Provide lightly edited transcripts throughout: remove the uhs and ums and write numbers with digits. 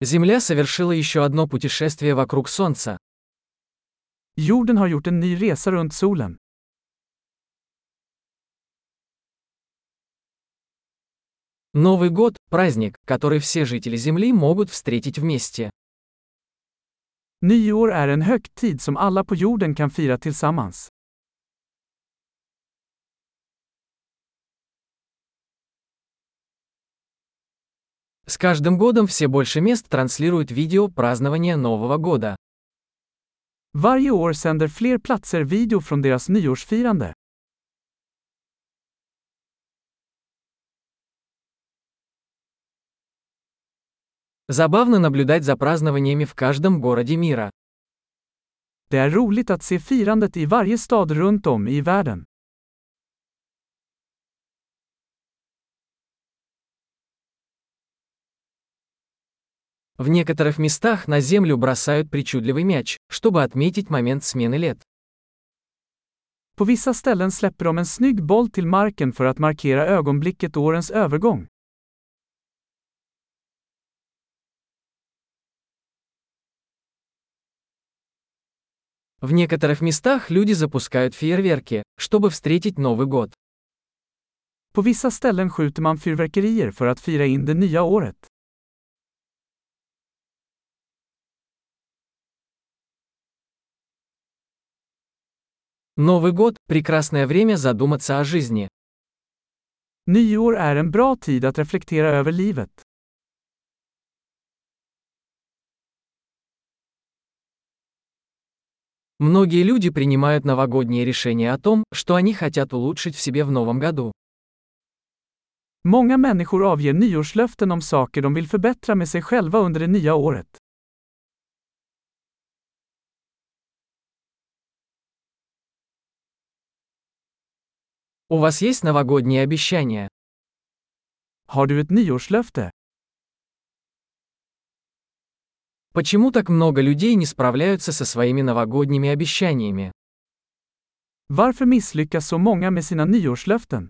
Земля совершила еще одно путешествие вокруг Солнца. Jorden har gjort en ny resa runt solen. Новый год – праздник, который все жители Земли могут встретить вместе. Nyår är en högtid som alla på jorden kan fira tillsammans. С каждым годом все больше мест транслируют видео празднования Нового года. Varje år sänder fler platser video från deras nyårsfirande. Забавно наблюдать за празднованиями в каждом городе мира. Det är roligt att se firandet i varje stad runt om i världen. В некоторых местах на землю бросают причудливый мяч, чтобы отметить момент смены лет. På vissa ställen släpper de en snygg boll till marken för att markera ögonblicket årens övergång. В некоторых местах люди запускают фейерверки, чтобы встретить Новый год. På vissa ställen skjuter man fyrverkerier för att fira in det nya året. Новый год – прекрасное время задуматься о жизни. Nyår är en bra tid att reflektera över livet. Многие люди принимают новогодние решения о том, что они хотят улучшить в себе в новом году. Många människor avger nyårslöften om saker de vill förbättra med sig själva under det nya året. У вас есть новогодние обещания? Har du ett nyårslöfte? Почему так много людей не справляются со своими новогодними обещаниями? Varför misslyckas så många med sina nyårslöften?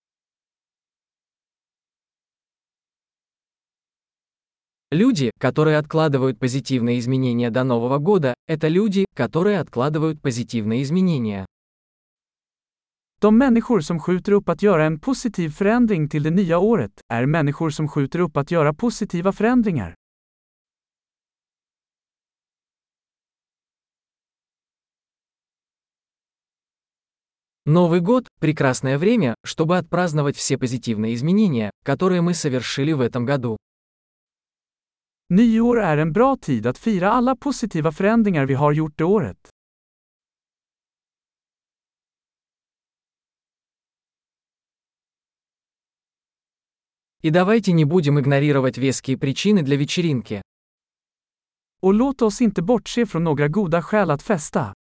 Люди, которые откладывают позитивные изменения до Нового года, это люди, которые откладывают позитивные изменения. De människor som skjuter upp att göra en positiv förändring till det nya året är människor som skjuter upp att göra positiva förändringar. Новый год – прекрасное время, чтобы отпраздновать все позитивные изменения, которые мы совершили в этом году. Nyår är en bra tid att fira alla positiva förändringar vi har gjort det året. И давайте не будем игнорировать веские причины для вечеринки. Och låt oss inte bortse från några goda skäl att festa.